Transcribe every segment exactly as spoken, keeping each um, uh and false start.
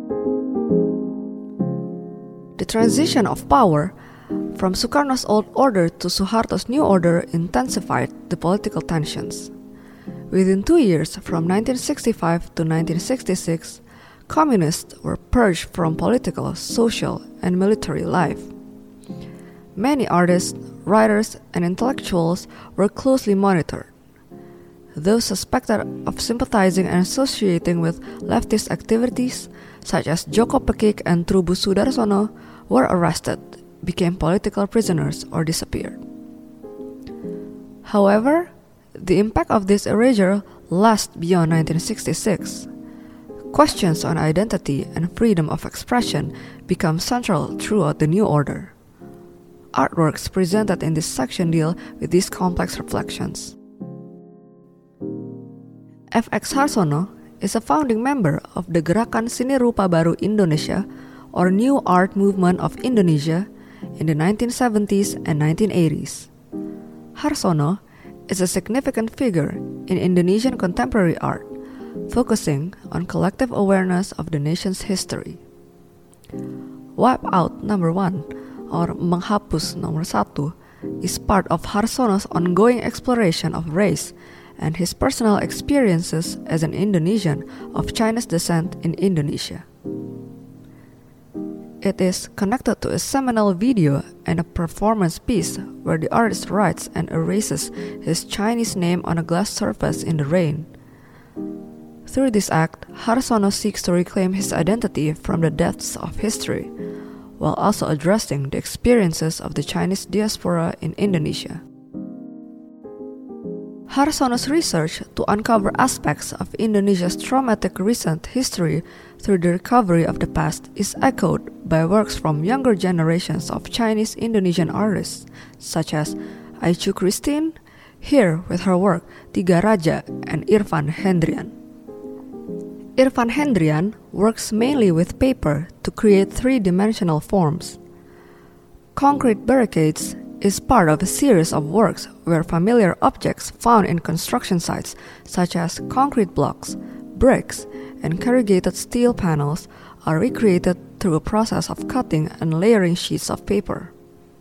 The transition of power from Sukarno's old order to Suharto's new order intensified the political tensions. Within two years, from nineteen sixty-five to nineteen sixty-six, communists were purged from political, social, and military life. Many artists, writers, and intellectuals were closely monitored. Those suspected of sympathizing and associating with leftist activities, such as Joko Pekik and Trubus Sudarsono, were arrested, became political prisoners, or disappeared. However, the impact of this erasure lasts beyond nineteen sixty-six. Questions on identity and freedom of expression become central throughout the new order. Artworks presented in this section deal with these complex reflections. F X Harsono is a founding member of the Gerakan Seni Rupa Baru Indonesia, or New Art Movement of Indonesia, in the nineteen seventies and nineteen eighties. Harsono is a significant figure in Indonesian contemporary art, focusing on collective awareness of the nation's history. Wipe Out Number One, or Menghapus Nomor Satu, is part of Harsono's ongoing exploration of race and his personal experiences as an Indonesian of Chinese descent in Indonesia. It is connected to a seminal video and a performance piece where the artist writes and erases his Chinese name on a glass surface in the rain. Through this act, Harsono seeks to reclaim his identity from the depths of history, while also addressing the experiences of the Chinese diaspora in Indonesia. Harsono's research to uncover aspects of Indonesia's traumatic recent history through the recovery of the past is echoed by works from younger generations of Chinese Indonesian artists, such as Aichu Christine, here with her work Tiga Raja, and Irfan Hendrian. Irfan Hendrian works mainly with paper to create three-dimensional forms. Concrete Barricades is part of a series of works where familiar objects found in construction sites, such as concrete blocks, bricks, and corrugated steel panels, are recreated through a process of cutting and layering sheets of paper.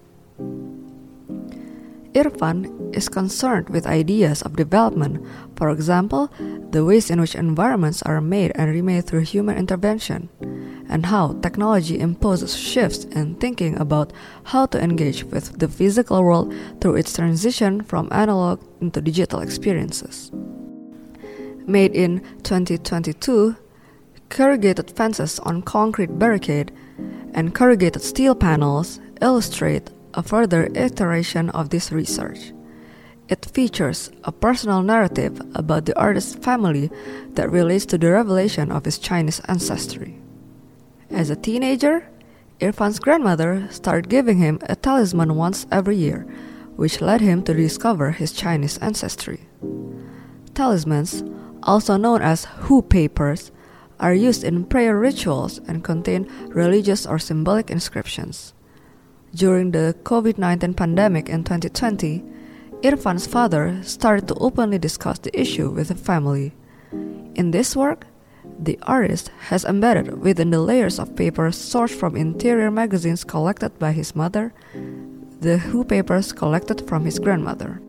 Irfan is concerned with ideas of development, for example, the ways in which environments are made and remade through human intervention, and how technology imposes shifts in thinking about how to engage with the physical world through its transition from analog into digital experiences. Made in twenty twenty-two, corrugated fences on concrete barricade and corrugated steel panels illustrate a further iteration of this research. It features a personal narrative about the artist's family that relates to the revelation of his Chinese ancestry. As a teenager, Irfan's grandmother started giving him a talisman once every year, which led him to discover his Chinese ancestry. Talismans, also known as hu papers, are used in prayer rituals and contain religious or symbolic inscriptions. During the covid nineteen pandemic in twenty twenty, Irfan's father started to openly discuss the issue with the family. In this work, the artist has embedded within the layers of paper sourced from interior magazines collected by his mother, the hu papers collected from his grandmother.